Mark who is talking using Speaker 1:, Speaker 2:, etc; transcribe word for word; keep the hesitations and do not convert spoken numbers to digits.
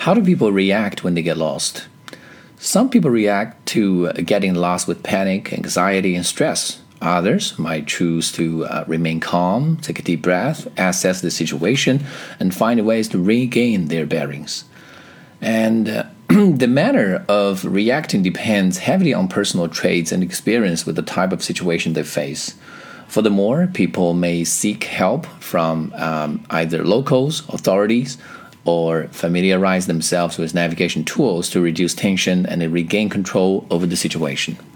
Speaker 1: How do people react when they get lost? Some people react to getting lost with panic, anxiety, and stress. Others might choose to uh, remain calm, take a deep breath, assess the situation, and find ways to regain their bearings. And uh, the manner of reacting depends heavily on personal traits and experience with the type of situation they face. Furthermore, people may seek help from um, either locals, authorities, or familiarize themselves with navigation tools to reduce tension and regain control over the situation.